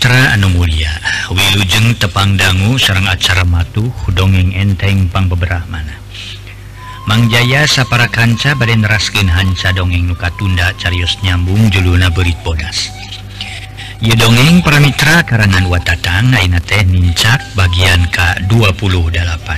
Mitra anu mulia wilujeng tepang dangu sareng acara matuh dongeng enteng pang beberapa mana Mang Jaya sapara kanca bade neraskeun hanca dongeng nu katunda carios nyambung juluna beurit bodas. Ieu dongeng para mitra karangan Watatang ayeuna teh nincak bagian ka-28.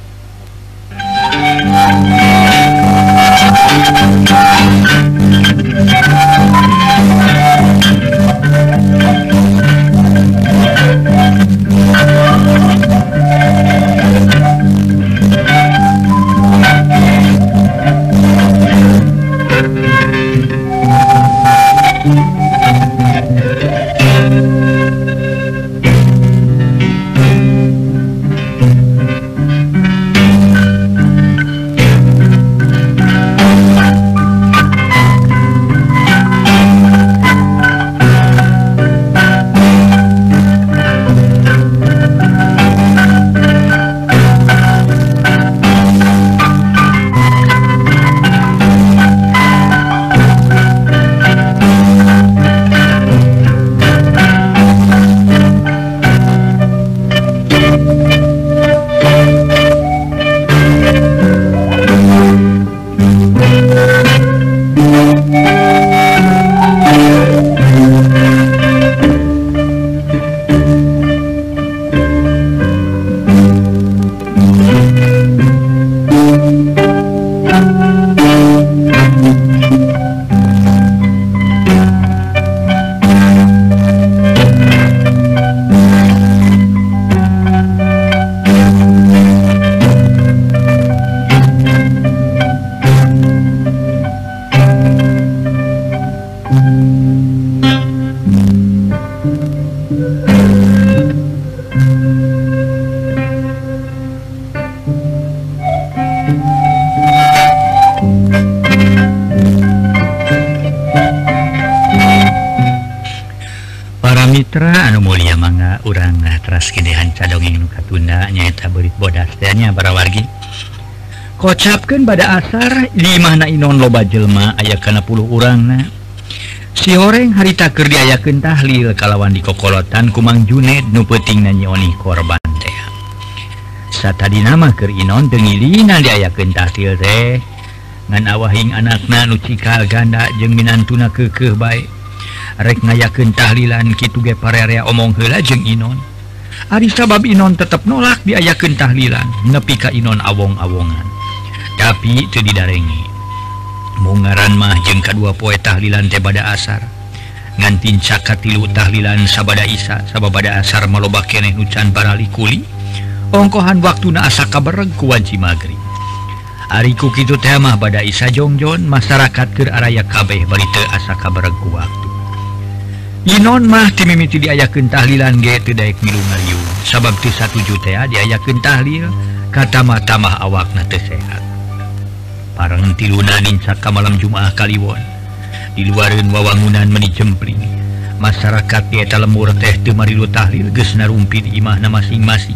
Mitra anu mulia mangga urang teraskeun hanca dongeng nu katunda nyaeta beurit bodas teh nya para wargi. Kocapkeun bada asar di mana inon loba jelema aya kana 10 urangna. Si horeng harita keur diayakeun tahlil kalawan dikokolotan ku Mang Juned nu peutingna nyioni korban teh. Satadina mah keur inon teu ngilina diayakeun tahlil teh ngan awahing anakna nu cikal ganda jeung minantuna keukeuh bae. Rek ngayakeun tahlilan kitu ge parerea omong heula jeung inon. Ari sabab inon tetep nolak diayakeun tahlilan nepi ka inon awong-awongan. Tapi teu didarengi. Mungaran mah jeung kadua poe tahlilan teh bada asar. Ngan tincak katilu tahlilan sabada isya sababada asar maloba keneh nu can barali kuli. Ongkohan waktuna asa kabereg ku wanci magrib. Ari ku kitu teh mah bada isya jongjon masyarakat keur araya kabeh bari teu asa kabereg ku waktu. Inon mah timimiti diayakeun tahlilan ge teu daek milu ngariung sabab teu satuju teh diayakeun tahlil katamah-tamah awakna teu sehat. Parang tiluna nincak ka malam Jumaah Kaliwon di luareun wawangunan meuni jempling masyarakat di eta lemur teh teu marilu tahlil geus narumpi di imahna masing-masing.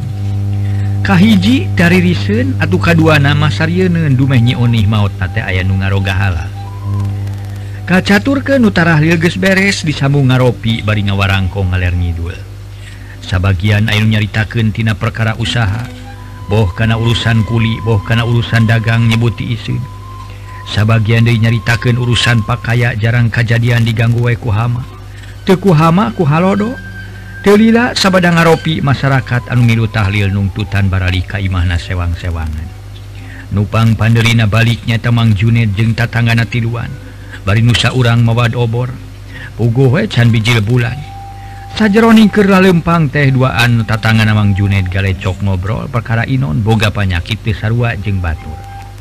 Kahiji daririseun atuh kaduana mah sarieun dumeh nyi onih maotna teh aya nu ngaroga halal. Kacaturkeun nu tarahlil geus beres disambung ngaropi bari ngawarangkong ngaler ngidul. Sabagian aya nu nyaritakeun tina perkara usaha, boh kana urusan kuli, boh kana urusan dagang nyebuti iseun. Sabagian deui nyaritakeun urusan pakaya jarang kajadian diganggu wae ku hama. Teu ku hama ku halodo. Teu lila sabada ngaropi masyarakat anu milu tahlil nungtutan barali ka imahna sewang-sewangan. Nupang pandeurina balik nyata Mang Juned jeung tatanggana tiluan. Bari nusa urang mawad obor puguh we can bijil bulan sajeroning keur laleumpang teh duaan tatangan Mang Juned galecok ngobrol perkara inon boga panyakit teu sarua jeung batur.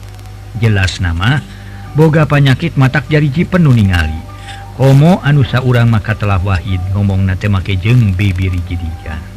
Jelas nama boga panyakit matak jariji penuh ningali komo anu saurang maka telah wahid ngomongna teh make jeung bibiri jidijan.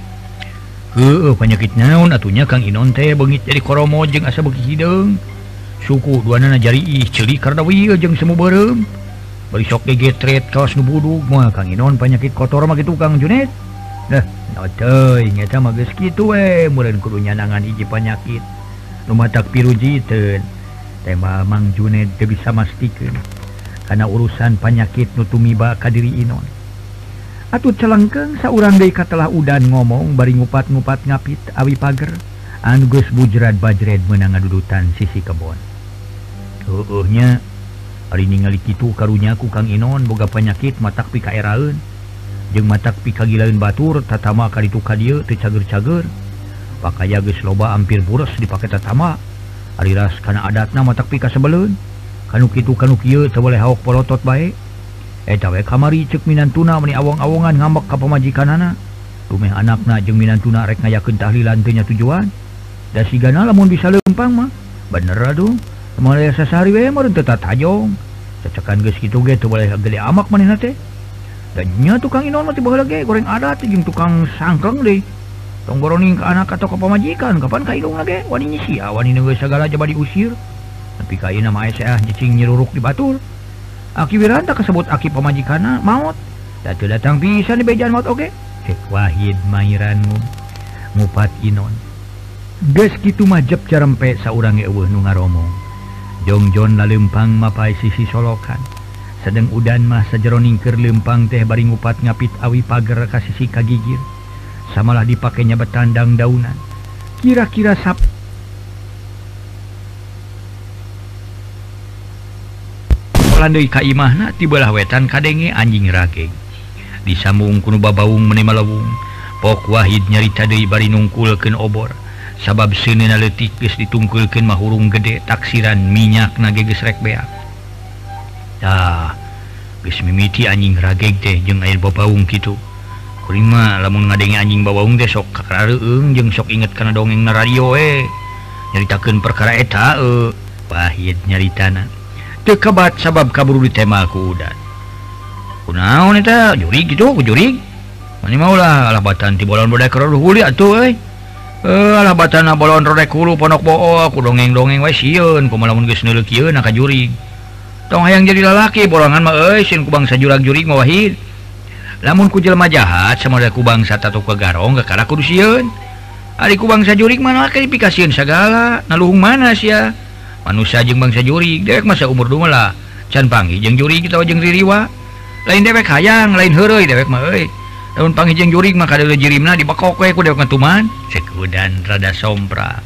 Heueuh penyakit naon atunya Kang Inon teh beungit jadi koromo jeung asa beuki hideung. Suku duanana jari ih ceuli karna wieu jeung semu beureum. Bari sok gegetret kaos nu budug moal Kang Inon penyakit kotor mah kitu Kang Juned. Nah, naon teuing eta mah geus kitu we, meureun kudu nyanangan hiji penyakit nu matak pirujiteun. Teh Mang Juned teu bisa mastikeun kana urusan penyakit nu tumiba ka diri Inon. Atut celengkeng saurang deui katelah udan ngomong bari ngupat-ngupat ngapit awi pager anu geus bujrad bajred meunang ngadudutan sisi kebon. Heueuhnya ari ningali kitu karunya ku Kang Inon boga penyakit matak pikaeraeun jeung matak pikagilaeun batur tatama ka ditu ka dieu teu cager-cager. Pakaya geus loba ampir buros dipake tatama. Ari ras kana adatna matak pika sebeleun. Kanu kitu kanu kieu teu boleh haok polotot bae. Eta we kamari ceuk minantuna meni awong-awongan ngambek ka pamajikanana. Rumeh anakna jeung minantuna rek ngayakeun tahlilan teu nya tujuan. Da sigana lamun bisa leumpang mah bener atuh. Moal sasari we meureun teu tatajong. Cacekan geus kitu ge teu boleh gede amak manehna teh. Da nya tukang Inon mah ti baheula ge goreng adat jeung tukang sangkeng deui. Tong boroning ka anak atau ka pamajikan kapan ka indungna ge wani nyisia wani geus sagala jaba diusir. Tapi ka ieu mah aya cicing nyiruruk di batur. Aki Wiranta kesebut aki pamajikanna maot. Da teu datang pisan di bejaan maot oge. Cek Wahid Mairan ngupat Inon. Geus kitu mah jep carempe saurang ge eueuh nu ngaromong. Jongjon laleumpang mapai sisi solokan. Sedeng udan mah sajeroning keur leumpang teh bari ngupat ngapit awi pager ka sisi kagigir. Samalah dipakainya betandang daunan. Kira-kira landai ka imahna ti belah wetan kadenge anjing rageng. Disambung kuno babaung meni malawung. Pok Wahid nyarita deui bari nungkulkeun obor. Sabab seuneuna leutik geus ditungkulkeun mah hurung gede taksiran minyakna ge geus rek beak. Tah, geus mimiti anjing rageng teh jeung air babaung kitu. Kuring mah lamun ngadenge anjing babaung teh sok kakareueung jeung sok inget kana dongengna radio nyaritakeun perkara eta Wahid nyaritana. Teu kabat sabab kaburu ditema ku udan. Kunaon eta jurig gitu ku jurig. Mani maulah alabatan ti bolon bodai keur huli atuh euy. Alabatan bolon rodek hulu pondok boo ku dongeng-dongeng wae sieun kumaha lamun geus neuleuk ieu na ka jurig. Tong hayang jadi lalaki bolongan mah euy sieun ku bangsa jurag jurig mah Wahid. Lamun ku jelema jahat samada ku bangsa tato kagarong kakara kudu sieun. Ari ku bangsa jurig mah laki dipikasieun sagala, naluhung mana sia? Manusia jeung bangsa jurig dewek masa umur dua lah can panggih jeung jurig kita jeung ririwa lain dewek hayang lain heureuy dewek mah euy lamun panggih jeung jurig mah kada jirimna dibakok we ku dewek ngatuman cek udan rada sompra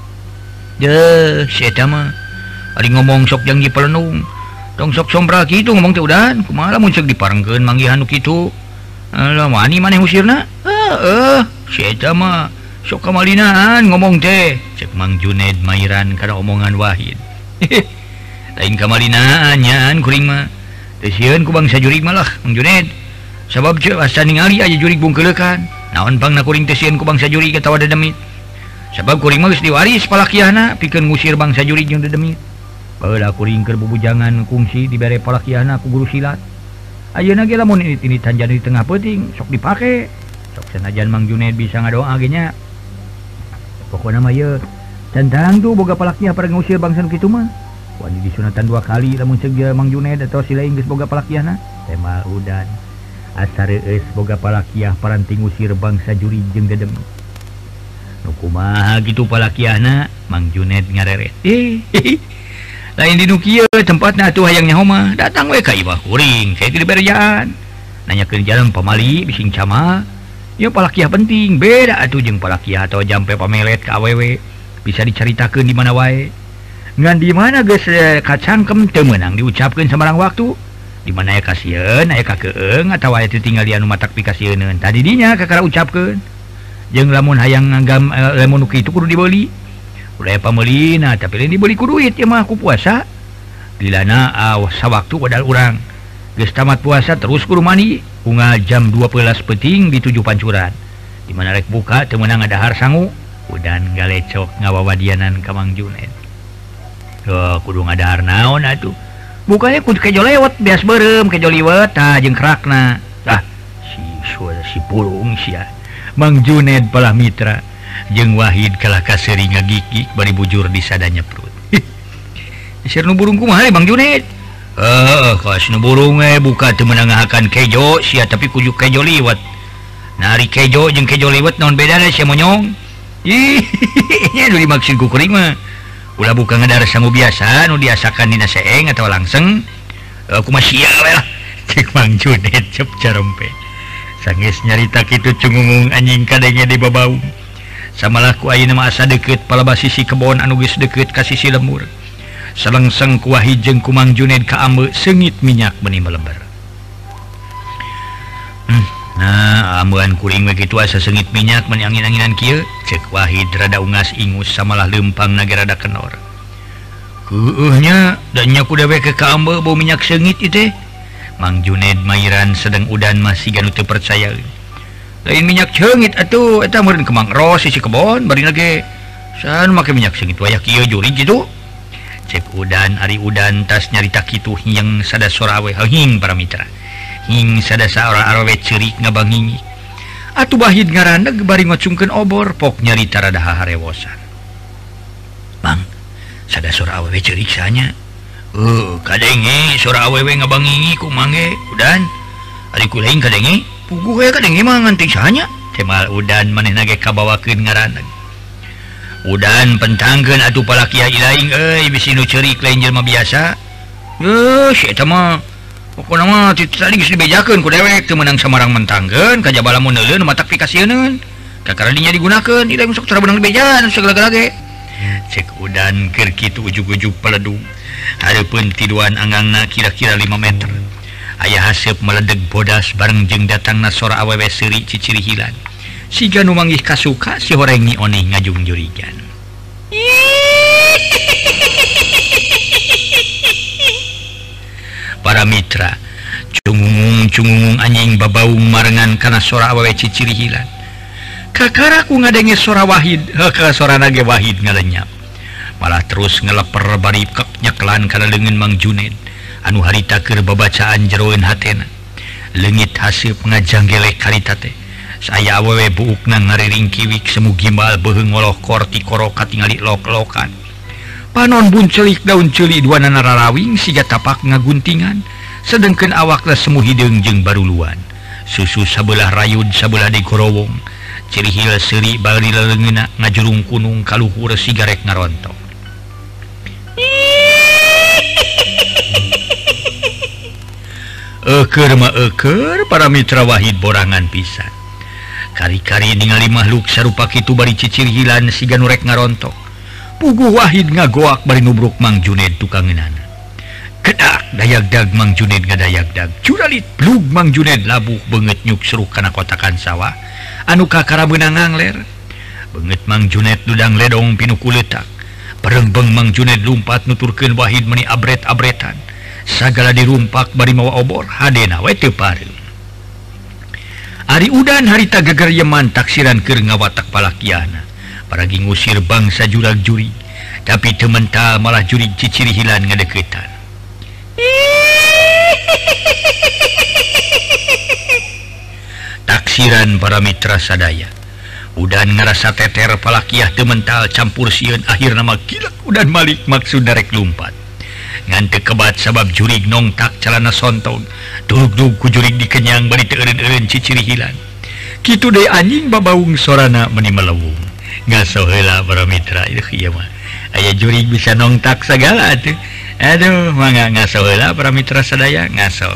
je si eta mah ari ngomong sok jeung dipelenung tong sok sompra kitu ngomong teh udan kumaha lamun ceuk diparengkeun manggihan nu kitu lah wani maneh usirna si eta mah sok kamalinaan ngomong teh cek Mang Junaid Mairan kana omongan Wahid. Lain kamalinaan nyaan kuring mah teu sieun ku bangsa jurig malah Mang Junaid sabab ceuk asa ningali aya jurig bungkeulekan naon pangna kuring teu sieun ku bangsa jurig atawa dedemit sabab kuring mah geus diwaris palakiahna pikeun ngusir bangsa jurig jeung dedemit baheula kuring keur bubujangan kungsi dibere palakiahna ku guru silat ayeuna ge lamun ini tanjan di tengah peuting sok dipake sok sanajan Mang Junaid bisa ngadoa ge nya. Pokoknya mah ya tentang tuh boga palakiah pada ngusir bangsa kitu mah wani disunatan 2 kali lamun ceuk Mang Junaid atau si lain geus boga palakiahna tema udan asar eus boga palakiah paranti ngusir bangsa jurig jeung dedemit nu kumaha kitu palakiahna Mang Junaid ngareret lain di nu kieu tempatna atuh hayang nyaho mah datang we ka imah kuring saya di berjaan nanyakeun jalan pamali bising cama. Ya palakiah penting beda atuh jeung palakiah atau jampe pamelet ka awewe bisa dicaritakeun di mana wae ngan di mana geus kacangkem teu meunang diucapkeun sabarang waktu di mana aya kasieun aya kakeung atawa aya tinggal di anu matak pikasieun tadi dinya kakara ucapkeun jeung lamun hayang ngagam lamun nu kitu kudu dibeli udah pameulina tapi lain dibeli ku duit ya mah ku puasa dilana sawaktu wadal urang geus tamat puasa terus kudu mandi unggal jam 12 peting di 7 pancuran di mana rek buka teu meunang ngadahar sangu udan galecok ngawawadianan ka Mang Junaid. Kudu ngadahar naon atuh bukanya kudu kejo lewat beas beureum kejo liwet tah jeung kerakna tah si pulung sia Mang Junaid palah mitra jeung Wahid kalah kaseuring ngagigik bari bujur di sadanya perut. Sir nu burung kumaha Mang Junaid? Kas nu burung buka teu meunang ngahakan kejo sia tapi kudu kejo liwet. Nari kejo jeung kejo liwet naon bedana sia monyong? Ih, nya nu dimaksud ku kuring mah. Ulah buka ngadar sangu biasa nu diasakan dina seeng atawa langseng. Kumaha sia we lah. Cek Mang Junaid cep carempe. sanggeus nyarita kitu cungungung anjing kadenge di babaung samalaku ayeuna mah asa deukeut palebas sisi kebon anu geus deukeut ka sisi lemur selengseng ku Wahid jeung ku Mang Juned ka ambe seungit minyak beuni meleber. Nah ambean kuring we kitu asa seungit minyak meuni angin-anginan kieu ceuk Wahid rada ungas ingus samalah leumpang nage rada kenor. Heueuhnya da nya ku dewe ke ka ambe bau minyak seungit ieu teh. Mang Juned mairan sedang udan masih ganu teu percaya. Lain minyak seungit atuh eta meureun ke Mang Ros sisi kebon bari lage san make minyak seungit wayah kieu juri gitu. Cek udan ari udan tas nyarita kitu yang sada sora awe hing para mitra. Hing sada saora awe ceurik ngabangingik. Atuh Wahid ngaraneg bari ngocungkeun obor pok nyarita rada haharewosan. Mang, sada sora awe ceurik sanya. Kadenge sora awewe ngabangingik ku mangge udan. Ari ku lain kadenge puguh we kadenge mah nganting sanya. Temal udan manehna ge kabawakeun ngaraneg. Udan pentangkeun atuh palaki lain euy bisi nu ceurik lain jelema biasa. Si eta mah pokona mah tadi geus dibejakeun ku dewek teu meunang samarang mentangkeun kajaba lamun neuleun matak pikasieun kakara dinya digunakeun ieu sok tara beunang dibejan segala-galage. Cek udan keur kitu ujug-ujug peledung hareupeun tiduan anggangna kira-kira 5 meter. Aya haseup meledeg bodas bareng jeung datangna sora awewe seuri ciciri hilan. Siga nu manggih kasuka si horengi oneh ngajung jurigan. Para mitra cungungung anjing babaung marengan kana sora awewe ciciri hilan. Kakara ku ngadenge sora Wahid ka sorana ge Wahid ngalenyap. Malah terus ngeleper bari nyeklan kana leungeun Mang Juned anu harita keur babacaan jeroeun hatena. Leungit haseup ngajanggelek harita teh. Saya awewe buukna ngariring kiwik semu gimbal beuheung ngoloh korti koro katingali lok-lokan. Panon buncelik daun ceuli duanana rarawing siga tapak ngaguntingan sedengkeun awakna semu hideung jeung baruluan. Susu sabelah rayud sabelah digorowong. Ciri hil seuri bari leungeunna ngajurung kunung kaluhur sigarek ngarontok. Euker para mitra Wahid borangan pisan. Kari-kari ningali makhluk sarupa kitu bari cicir hilan siga nu rek ngarontok. Puguh Wahid ngagoak bari nubruk Mang Juned tukangeunana. Kedak dayagdag Mang Juned ngadayagdag. Curalit plug Mang Juned labuh beungeut nyuk seruh kana kotakan sawah anu kakara beunang ngangler. Beungeut Mang Juned dudang ledong pinu kuleutak. Parengbeng Mang Juned lumpat nuturkeun Wahid meuni abret-abretan. Sagala dirumpak bari mawa obor hadena we teu pareum. Ari udan harita geger yeman taksiran keur ngawatak palakiana. Paragi ngusir bangsa jurag juri, tapi teu mental malah juri ciciri hilan ngadeuketan. Taksiran para mitra sadaya. Udan ngarasa teter palakiah teu mental campur sieun akhirna mah gilak udan malik maksud rek lumpat. Ngan teu kebat sabab jurig nongtak calana sontong dug-dug ku jurig dikenyang bari teu eureun-eureun ciciri hilan. Kitu deui anjing babaung sorana meuni melewung. Ngaso heula para mitra ieu mah aya jurig bisa nongtak sagala atuh. Aduh mangga ngaso heula para mitra sadaya ngaso.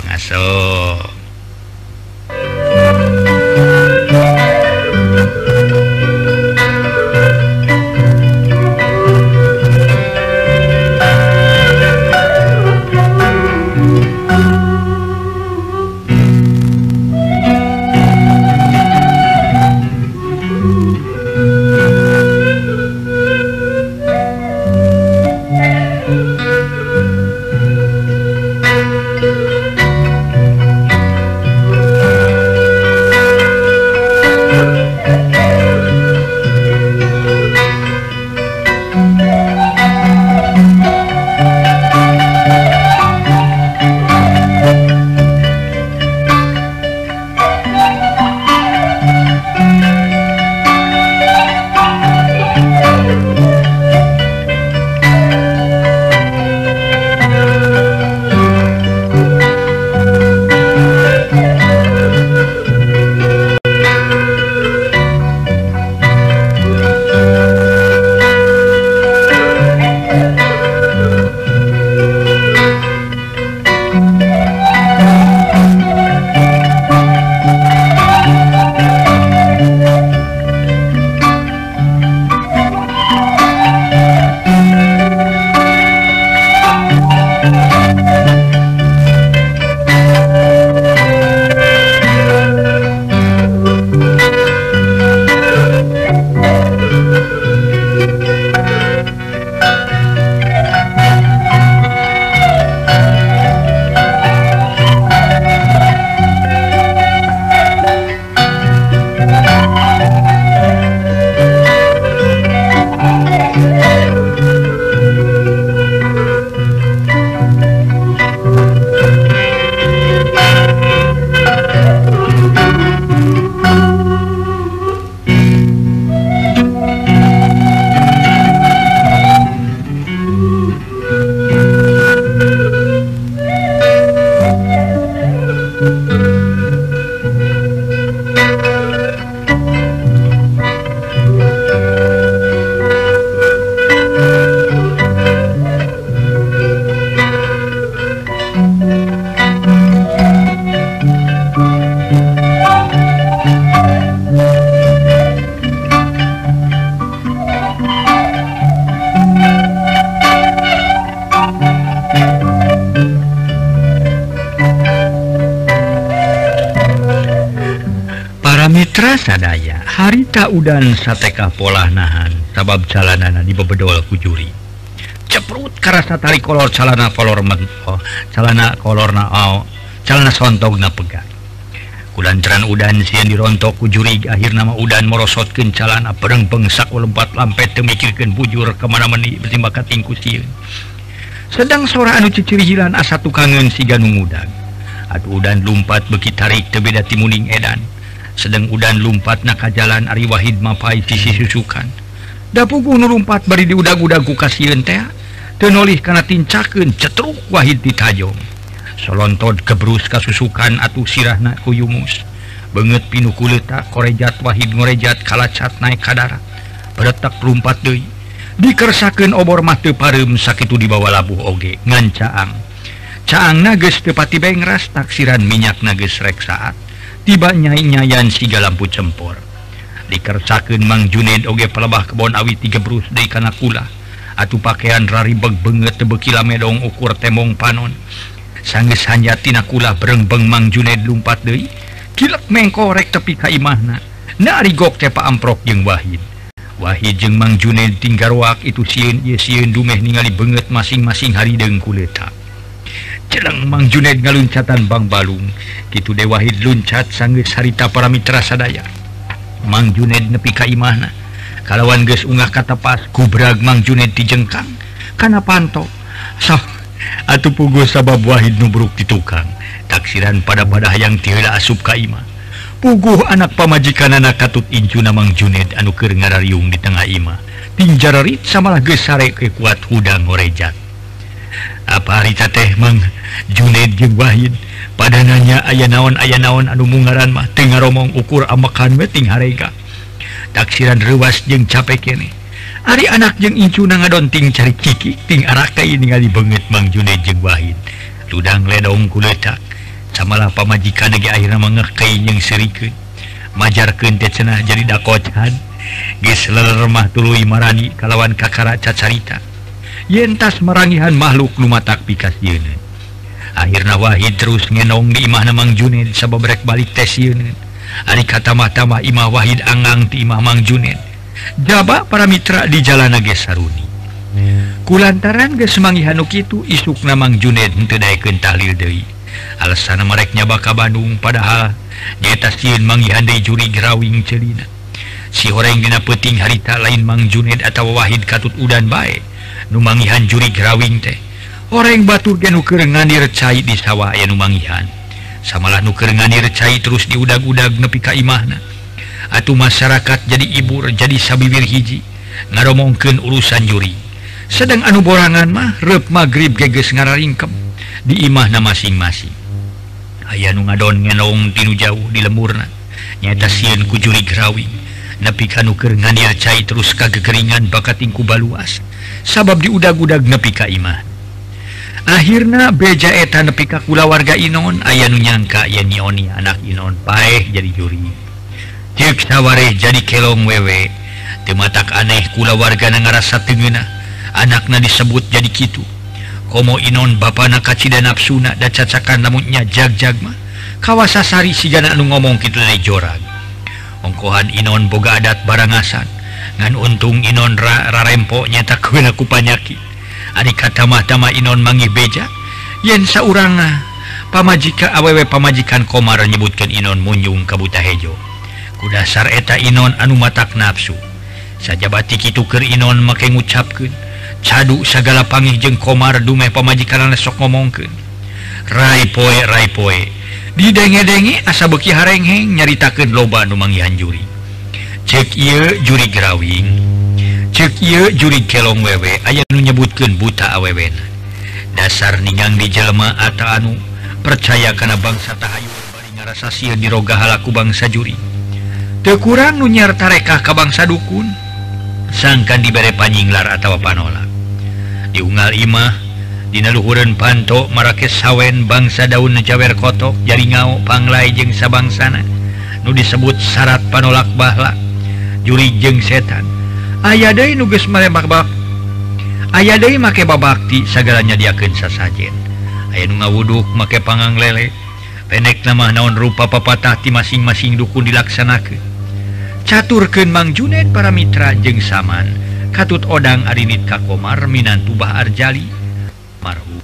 Mitra sadaya harita udan sateka pola nahan sabab calanana dibebedol ku juri ceprut karasa tali kolor calana kolor mentoh calana kolorna calana sontogna pegang kulantaran udan sieun dirontok ku juri akhirna mah udan morosotkeun calana pereng bengsak lompat lampet teu mikirkeun bujur kemana meni bertimbang ka tingku sieun sedang sora anu cicirihilan asa tukangeun siga nu ngudag atuh udan lumpat beuki tarik teu beda ti muning edan sedang udan lumpat na ka jalan ari Wahid mapai sisi susukan da puguh nu lumpat bari diudag-udag ku kasieun teh teu nolih kana tincakeun cetruk Wahid ditajong solontod kebrus kasusukan atuh sirahna ku yumus beungeut pinu kuletak korejat Wahid ngorejat kalacat naik ka darat beretak lumpat deui dikersakeun obor mah teu pareum sakitu dibawa labuh oge ngan caangna geus teu pati bae ngras taksiran minyakna geus rek saat tiba nyai-nyayan siga lampu cempor dikersakeun Mang Junaid oge pelebah kebon awi tigebrus deui kana kula atuh pakaian raribeg beungeut teu beuki lamedong ukur tembong panon sanggeus hanjatina kula berengbeng Mang Junaid lumpat deui kilek mengkorek tepi ka imahna narigok teh Pa Amprok jeung Wahid jeung Mang Junaid tinggarwak itu sieun ieu sieun dumeh ningali beungeut masing-masing harideung kuletak Celeng Mang Junaid ngaluncatan Bang Balung kitu de Wahid luncat sanggeus harita para mitra sadaya Mang Junaid nepi ka imahna kalawan geus ungah katepas kubrag Mang Junaid dijengkang kana panto atuh puguh sabab Wahid nubruk di tukang taksiran pada hayang ti heula asup ka imah puguh anak pamajikanana katut incuna Mang Junaid anu keur ngarariung di tengah imah tinjararit samalah geus sare ke kuat hudang ngorejat apa harita teh Mang Junaid jeung Wahid pada nanya aya naon anu mungaran mah teu ngaromong ukur amekan we ting harega taksiran reuas jeung capek keneh ari anak jeung incuna ngadonting cari kiki ting arakai ningali beungeut Mang Junaid jeung Wahid ludang ledong kuletak samalah pamajikan ge akhirna mangekei jeung serikeun majarkeun teh cenah jadi dakocan geus leler mah tuluy marani kalawan kakara cacarita yen tas marangihan makhluk lumatak pikasieun akhirna Wahid terus ngenong di imahna Mang Junaid sabab rek balik teh sieun ari katamah-tamah imah Wahid angang ti imah Mang Junaid jaba para mitra di jalana ge saruni kulantaran geus mangihan nu kitu isukna Mang Junaid henteu daekeun tahlil deui alasanna marek nyaba ka Bandung padahal nyaeta sieun mangihan deui juri grawing ceulina si horeng dina peuting harita lain Mang Junaid atawa Wahid katut udan bae nu mangihan juri grawing teh horeng batur ge nu keur nganir cai di sawah aya nu mangihan samalah nu keur nganir cai terus diudag-udag nepi ka imahna atuh masyarakat jadi ibur jadi sabibir hiji ngaromongkeun urusan juri sedang anu borangan mah reup magrib ge geus ngararingkem di imahna masing-masing aya nu ngadon ngenong tinu jauh di lemurna nyaeta sieun ku juri grawing nepi ka nu keur nganir cai terus kagegeringan bakat tingku baluas sabab diudag-udag nepi ka imah akhirna beja eta nepi ka kulawarga Inon aya nu nyangka yen Nioni anak Inon paeh jadi juri ceuk sawareh jadi kelong wewe teu matak aneh kulawargana ngarasa teungeunah anakna disebut jadi kitu komo Inon bapana kacida nafsuna da cacakan lamun nya jag-jag mah kawasa sari sigana anu ngomong kitu teh jorag ongkohan Inon boga adat barangasan ngan untung Inon rarempo nyata keuna ku panyakit ari katamah-tamah Inon manggih beja yen saurang pamajika awewe pamajikan Komar nyebutkeun Inon munjung ka buta hejo ku dasar eta Inon anu matak nafsu sajabati kitu keur Inon make ngucapkeun cadu sagala pangih jeung Komar dumeh pamajikanana sok ngomongkeun rai poe didenge-denge asa beuki harengheng nyaritakeun loba anu manggihan juri cek ieu juri grawing cek ieu juri kelong wewe aya nu nyebutkeun buta awewena dasar ningang di jelema ata anu percaya kana bangsa tahayu bari ngarasa sieun diroga halaku bangsa juri teu kurang nu nyer tarekah ka bangsa dukun sangkan dibere panyinglar atawa panolak diunggal imah dina luhureun panto marakes sawen bangsa daun jawer kotok jari ngao panglai jeung sabangsana nu disebut syarat panolak bahlak juri jeung setan aya deui nu geus malebak aya deui make babakti sagalanya diakeun sasajen aya nu ngawuduk make pangang lele pendek nama naon rupa papatah ti masing-masing dukun dilaksanakeun. Caturkeun Mang Juned para mitra jeung saman katut odang arinit ka Komar minantu Bah Arjali marhum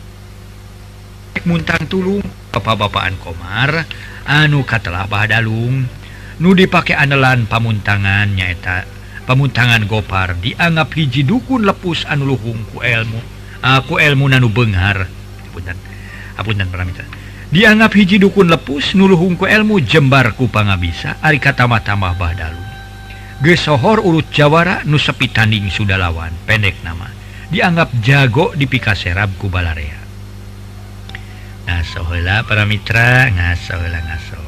muntang tulung bapak-bapaan Komar anu katelah Bah Dalung nu dipake anelan pamuntangan nyaeta pamuntangan Gopar dianggap hiji dukun lepus anu luhung ku ilmu nanu beunghar apunten para mitra dianggap hiji dukun lepus nu luhung ku ilmu jembar ku pangabisa ari katamah-tamah Bah Dalung geus sohor urut jawara nu sepi tanding sudah lawan pendek nama dianggap jago dipikaserab ku balarea. Ngaso heula para mitra, ngaso heula ngaso.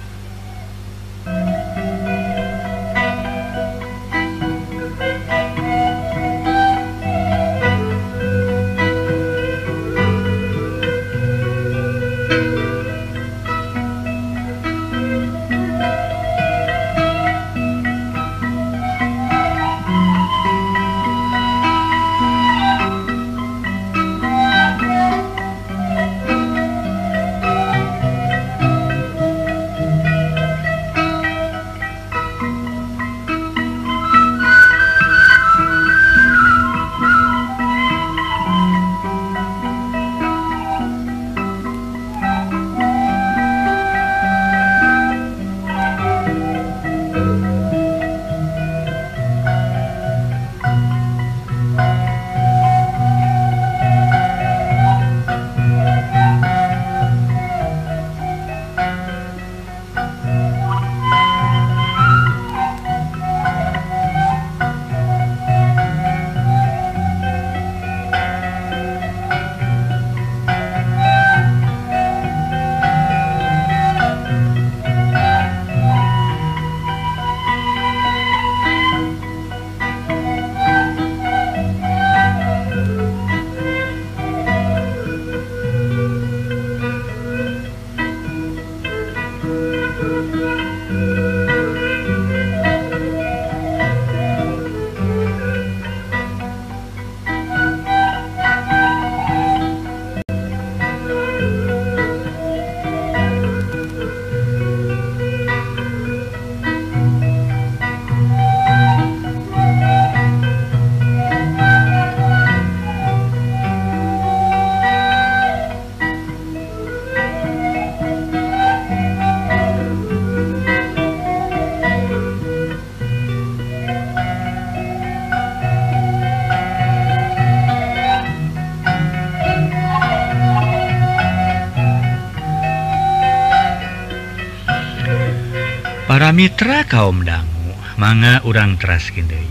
Para mitra kaum dangu manga urang teraskeun deui.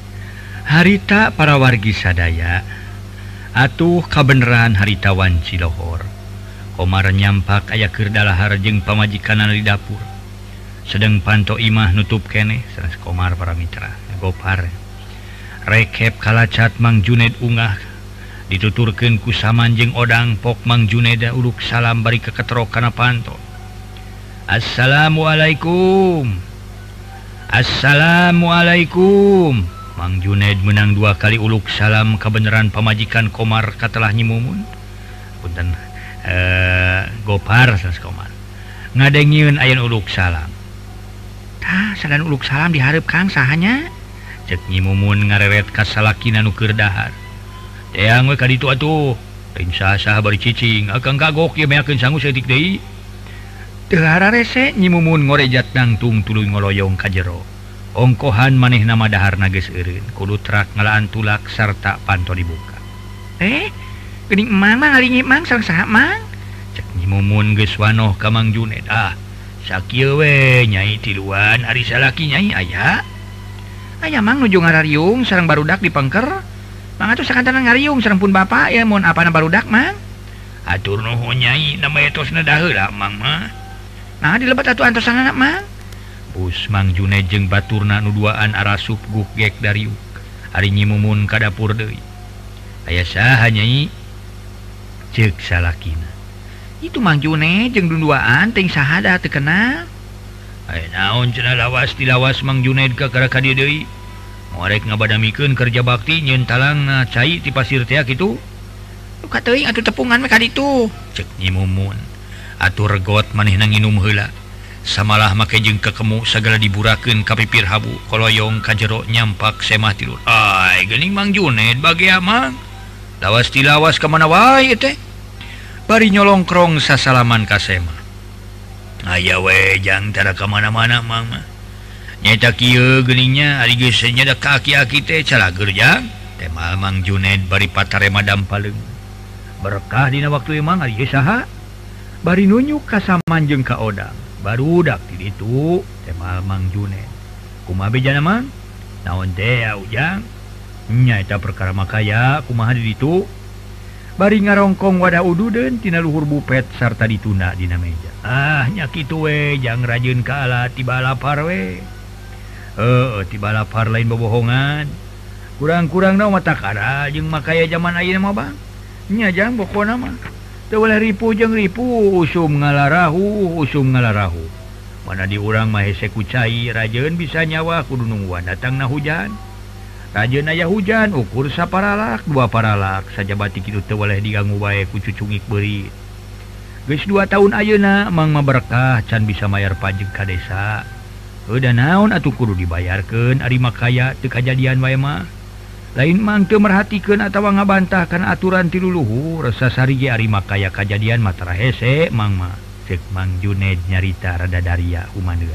Harita para wargi sadaya atuh kabeneran harita wanci lohor. Komar nyampak aya keur dalahar jeung pamajikanna di dapur. Sedeng panto imah nutup keneh sanes Komar para mitra. Gopar rekep kalacat Mang Juned ungah dituturkeun ku saman jeung odang pok Mang Juneda uluk salam bari keketrok kana panto. Assalamualaikum. Assalamualaikum. Mang Juned menang 2 kali uluk salam kabeneran pamajikan Komar katelah nyimumun. Punten Gopar sanes Komar. Ngadengieun ayeuna uluk salam. Tah sadan uluk salam dihareup Kang sahanya? Cek nyimumun ngareret ka salakina nu keur dahar. Teang we ka ditu atuh. Lain saha-saha bari cicing, akang kagok ye meakeun sangu saeutik deui. Teu hararese nyimumun ngorejat nangtung tuluy ngoloyong ka jero. Ongkohan manehna mah daharna geus eureun, kudu trak ngalaan tulak sarta panto dibuka. Geuning emang mah ngalingi Mang sareng saha Mang? Cek nyimumun geus wanoh ka Mang Juned. Sakieu we Nyai tiluan ari salaki Nyai aya. Aya Mang nuju ngarariung sareng barudak dipengker. Mang atuh sakantana ngariung sareng pun Bapak ya mun apana barudak Mang? Atur nuhun Nyai nama etosna daheula Mang mah. Nah dilebat atuh antosanna Mang. Bus Mang Juned jeung baturna nu duaan arasup guk-gek dariuk. Ari nyimumun ka dapur deui. Aya saha Nyai? Ceuk salakina. Itu Mang Juned jeung dunduaan teuing saha da teu kenal. Aya naon cenah lawas tilawas Mang Juned ka ka dieu deui. Ngorek ngabadamikeun kerja bakti nyieun talang cai ti pasir teh kitu. Luka teuing atuh tepungan we ka ditu. Ceuk nyimumun. atur regot maneh nang nginum heula samalah make jeung kekemu segala diburakeun ka pipir habu koloyong ka jero nyampak semah tilu ai geuning Mang Juned bagea mang lawas tilawas ka mana wae teh bari nyolongkrong sasalaman ka semah aya we jang tara ka mana-mana mang mah nyaeta kieu geuningnya ari geus nyada ka aki-aki teh calager jang temal Mang Juned bari patare madam paleung berkah dina waktu emang ari geus saha bari nunjuk ka Saman jeung ka Odang barudak di ditu temal Mang Juned kumaha bejana mang naon teh ujang nya eta perkara makaya kumaha di ditu bari ngarongkong wadah ududeun tina luhur bupet sarta ditunda dina meja nya kitu we jang rajieun ka alat tiba lapar we tiba lapar lain bobohongan kurang-kurang naon mata kara jeung makaya zaman ayeuna mah bang nya jang pokona mah teu boleh ripu jeung ripu usum ngalarahu mana di urang mah hese kucai rajieun bisa nyawa kudu nungguan datangna hujan rajieun aya hujan ukur saparalak 2 paralak saja batik kitu teu boleh diganggu bae ku cucungik beurit geus 2 tahun ayeuna mang mah berkah can bisa mayar pajeg ka desa da naon atuh kudu dibayarkeun ari makaya teu kajadian wae mah lain mang teu merhatikeun atawa ngabantah kana aturan ti luluhur sasari ge ari makaya kajadian matra hese mang mah ceuk Mang Juned nyarita rada daria humaneuar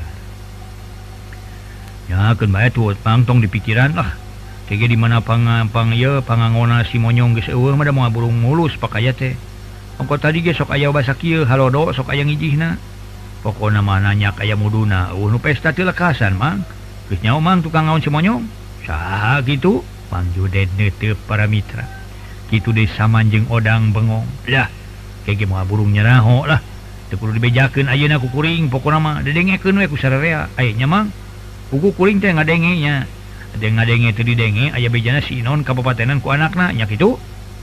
nyakeun bae tuh mang tong dipikiran lah tege di mana pangangona si monyong geus eueuh mah da moal burung mulus pakaya teh ongko tadi ge sok aya basa kieu halodo sok aya ngijihna pokona mah nanya aya muduna nu pesta teu lekasan mang geus nyaho mang tukang ngaon si monyong saha kitu Mang Juned neuteub para mitra kitu deui Saman jeung Odang bengong lah kege moal burung nyaraho lah teu kudu dibejakeun ayeuna ku kuring pokona mah didengekeun we ku sararea aya nya mang kuku kuring teh ngadenge nya ngadenge teu didenge aya bejana si Inon kapapatenan ku anakna nya kitu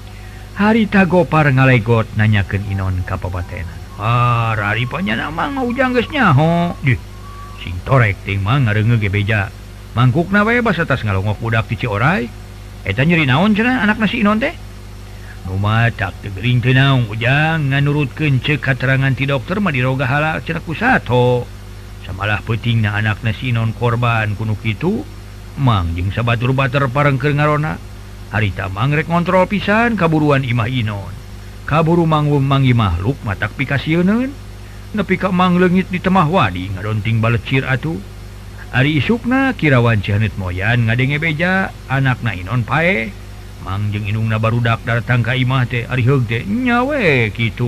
harita Gopar ngalegot nanyakeun Inon kapapatenan rari panyana mang ujang geus nyaho sing torek ting mang ngareungeug ge beja mangkukna wae basa tas ngalongok budak ti Cioray eta nyeri naon cenah anakna si Inon teh nu matak teu geuring teu naon ujang nganurutkeun ceuk katerangan ti dokter mah diroga halak cenah ku sato samalah peutingna anakna si Inon korban kuno kitu mang jeung sabatur bater parengkeun ngarona harita mang rek ngontrol pisan kaburuan imah Inon kaburu manggi makhluk matak pikasieun nepi ka mang leungit di temah wadi ngadonting balecir atuh ari isukna kirawan Cihaneut moyan ngadenge beja anakna Inon pae mang jeung indungna barudak datang ka imah teh ari heug teh nya we kitu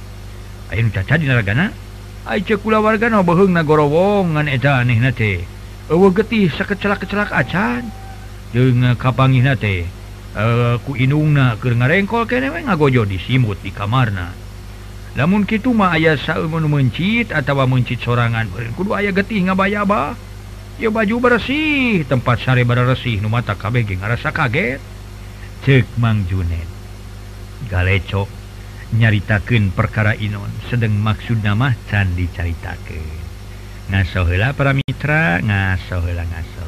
aya nu caca dina ragana ai ceuk kulawargana beheungna gorowong ngan eta anehna teh eueuh getih sakecelak-kecelak acan jeung kapanggihna teh ku indungna keur ngarengkol keneh we ngagojo di simut di kamarna lamun kitu mah aya saeueun mencit atawa mencit sorangan kudu aya getih ngabayaba ya baju bersih tempat sare bersih nu mata kabeh ge ngarasa kaget ceuk Mang Juned galecok nyaritakeun perkara Inon sedeng maksudna mah can dicaritakeun ngaso heula para mitra ngaso heula ngaso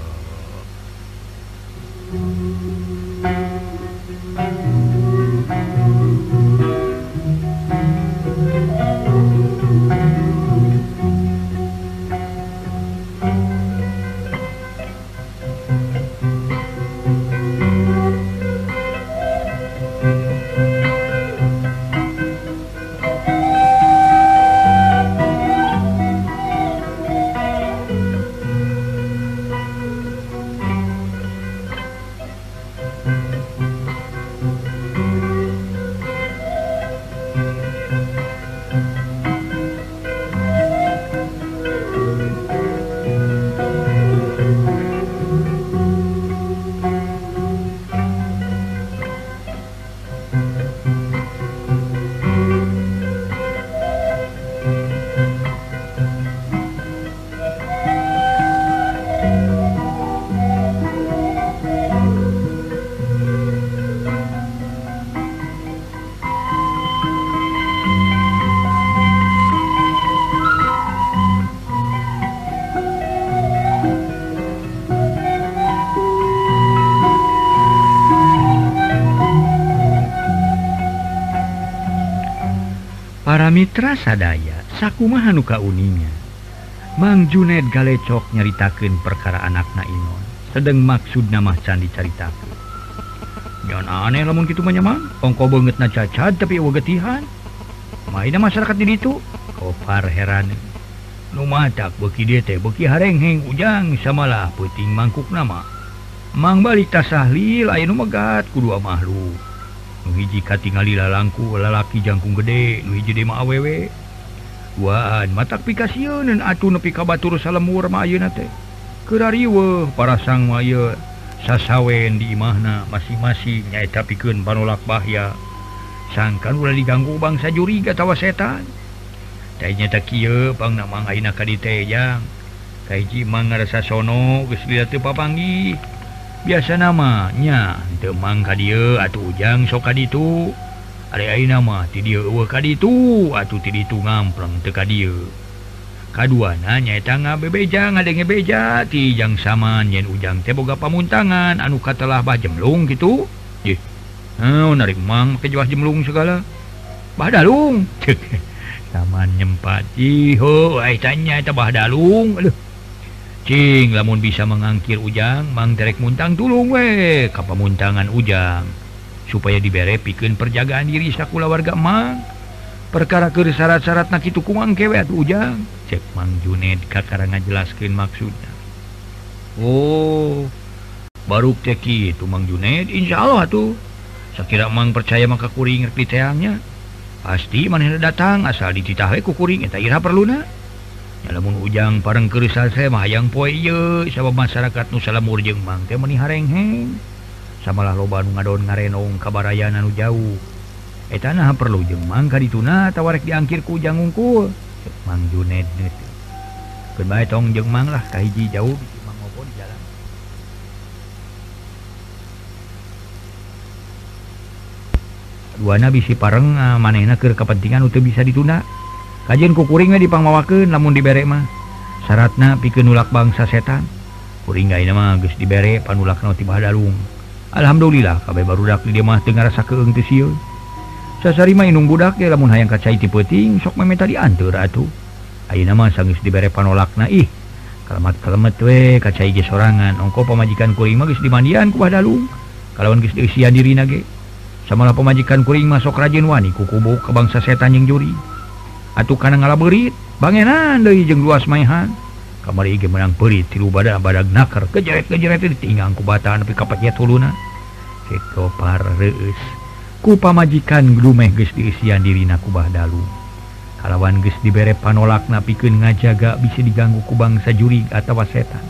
Para mitra sadaya sakumaha nu kauninya. Mang Juned galecok nyaritakeun perkara anakna Inon. Sedeng maksudna mah can dicaritakeun. Nyon aneh lamun kitu mah nya Mang. Ongko beungeutna cacat tapi eueuh getihan. Maina masyarakat di ditu. Kopar heran. Nu matak beuki dieu teh beuki harengheng ujang samalah peuting mangkukna mah. Mang balik tasahlil aya nu megat kudu makhluk. Nu hiji katingali lalangku lalaki jangkung gede, nu hiji mah awewe. Duaan matak pikasieun atuh nepi ka batur salemur mah ayeuna teh. Keur ariweuh parasang mah ieu sasawen di imahna masing-masing nyaeta pikeun panolak bahya. Sangkan ulah diganggu bangsa juri atawa setan. Teh nyata kieu pangna mang ayeuna ka dieu teh jang. Kahiji mang ngarasa sono geus lihat teu papanggih. Biasa nama nya teu mang ka dieu atuh ujang sok ka ditu. Ari ayeuna mah ti dieu eueuh ka ditu atuh ti ditu ngampleng teu ka dieu. Kaduana nyaeta ngabebeja ngadenge beja ti jang saman yen ujang teh boga pamuntangan anu katelah bah jemlung kitu. Yeh. Naon ari mang make jelas jemlung segala. Bah dalung. Ceuk. Saman nyempat. Iho ai tanya eta bah dalung. Aduh. Cing lamun bisa mengangkir ujang mang terek muntang tulung we ka pamuntangan ujang supaya dibere pikeun perjagaan diri sakula warga mang perkara keur syarat-syaratna kitu kumang kewe atuh ujang cek Mang Juned kakara ngajelaskeun maksudna. Oh baru teh kitu Mang Juned insyaallah atuh sakira mang percaya maka kuring ngerti teangnya pasti manehna datang asal dititah we ku kuring eta ira perluna. Ya lamun ujang pareng keur salse mah hayang poe ieu sabab masyarakat nu salamur jeung mang teh meuni harengheng. Samalah loba nu ngadon ngarenong ka barayan anu jauh. Eta naha perlu jeung mang ka dituna atawa rek diangkir ku ujang ngungkul. Mang Juned neuti. Keun bae tong jeung mang lah ka hiji jauh bisi mang ngopo di jalan. Duana bisi pareng manehna keur kapentingan teu bisa ditunda. Kajian ku kuring we dipangmawakeun lamun dibere mah. Syaratna pikeun nulak bangsa setan. Kuring gaina mah geus dibere panulakna ti Bahdalung. Alhamdulillah kabeh barudak di dieu mah teu ngarasakeun teu sieun. Sasarima inung budak ge lamun hayang kacai ti peuting sok memeta dianteur atuh. Ayeuna mah sanggeus dibere panolakna ih. Kalemet-kalemet we kacai ge sorangan. Ongko pamajikan kuring mah geus dimandian ku Bahdalung. Kalawan geus dieusian dirina ge. Samalah pamajikan kuring mah sok rajin wani ku kubu ka bangsa setan jeung juri. Atuh kana ngalabeurit bangenan deui jeung luas maehan kamari ge menang peurit tilu badag nakar kejeret-kejeret ditinggang ku bata nepi ka pacet huluna kitu pareus ku pamajikan glumeh geus diisian dirina ku Bahdalung kalawan geus dibere panolakna pikeun ngajaga bisa diganggu ku bangsa jurig atawa setan.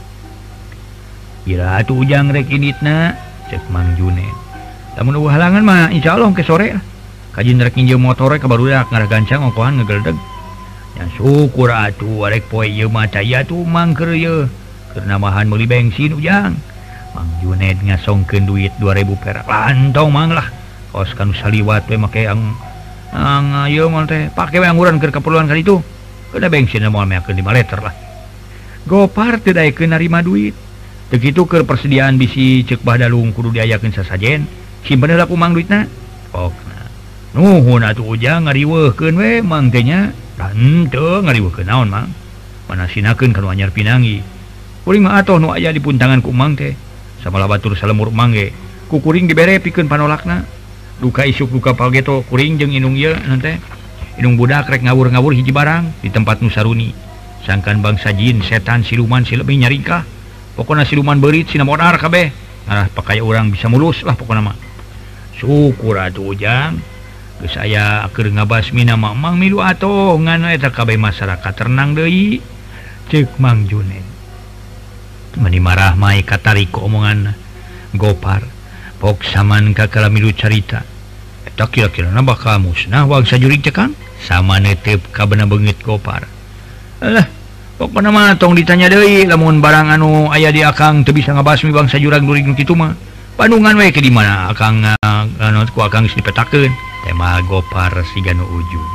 Ira atuh ujang rek inditna cek Mang Juned. Lamun eueuh halangan mah insyaallah ke sore lah. Kajin rek nginjeu motore ka barudak ngaragancang ongkohan ngegeldeg. Nya syukur atuh arek poe ieu mah cai atuh mang keur ieu. Keur namahan meuli bensin ujang. Mang Juned ngasongkeun duit 2000 perak. Lantong mang lah. Kos kanu saliwat we make ang ieu mah teh pake we angguran keur keperluan ka ditu. Keuna bensin moal meakeun 5 liter lah. Gopar teu daekeun narima duit. Teu kitu keur persediaan bisi ceuk Bahdalung kudu diayakeun sasajen. Simpen heula ku mang duitna. Pokna nuhun atuh ujang ngariweuhkeun we mang teh nya. Henteu ngariweuhkeun naon mang. Manasinakeun kanu anyar pinanggi. Kuring mah atoh nu aya di puntangan ku mang teh. Samalah batur salemur mang ge. Ku kuring dibere pikeun panolakna. Duka isuk duka palgeto kuring jeung inung ieu naon teh. Inung budak rek ngawur-ngawur hiji barang di tempat nu saruni. Sangkan bangsa jin, setan, siluman silebih nyarikah. Pokona siluman beurit sina modar kabeh. Ngarah pakaya urang bisa mulus lah pokona mah. Syukur atuh ujang. Geus aya keur ngabasmina mang milu atoh ngan eta kabeh masyarakat tenang deui ceuk Mang Juned. Mani marah mai katariko omonganna. Gopar pok saman ka kala milu carita. Eta kira-kirana bakal musnah wangsa jurig teh Kang. Sama neuteup ka beuna beungeut Gopar. Alah pokona mah tong ditanya deui lamun barang anu aya di akang teu bisa ngabasmi bangsa jurang jurig nu kitu mah. Bandungan we ke di mana akang anu ku akang geus dipetakeun. Tema Gopar siganu ujung.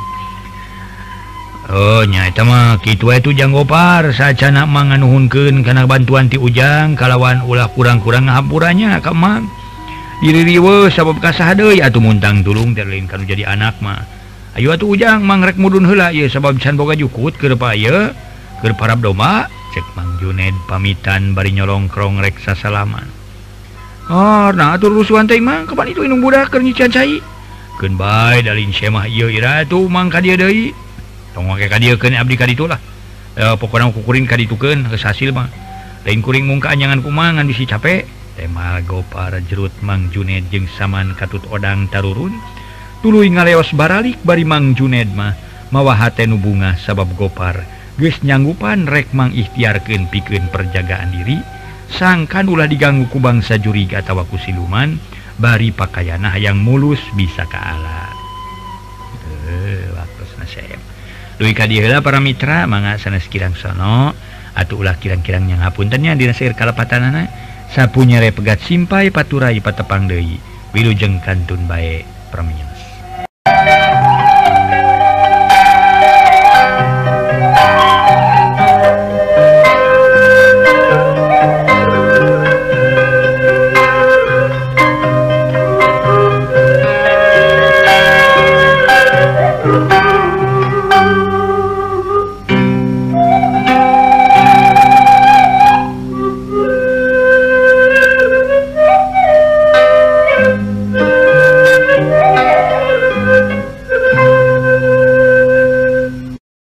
Oh nya eta mah kitu we tuh Jang Gopar sacana mang nganuhunkeun kana bantuan ti ujang kalawan ulah kurang-kurang ngahampurannya ka mang. Diri riweuh sabab kasaha deui atuh muntang tulung teh lain kanu jadi anak mah. Ayo atuh ujang mangrek mudun heula ieu sabab can boga jukut keur paya keur parab doma cek Mang Juned pamitan bari nyolongkrong rek sasalaman. Nah atur rusuhan teh Mang kapan itu indung budak keur nyician cai. Keun bae dalin semah ieu ira tuh Mang ka dieu deui. Tong make ka dieu keun abdi ka ditu lah. Pokona kukuring ka ditukeun geus hasil mah. Lain kuring mung kaanyangan kumaha ngan bisi capek. Tema Gopar jerut Mang Juned jeung saman katut odang tarurun. Tuluy ngaleos baralik bari Mang Juned mah mawa hate nu bunga sabab Gopar geus nyanggupan rek mangikhtiarkeun pikeun perjagaan diri sangkan ulah diganggu ku bangsa jurig atawa ku siluman bari pakaiana hayang mulus bisa ka alat. Waktosna sae. Duy ka dieu heula para mitra mangga sanes kirang sono atuh ulah kirang-kirang nya ngapunten nya dina saeur kalepatanana sapunya re pegat simpai paturai patepang deui wilujeng kantun bae pramila.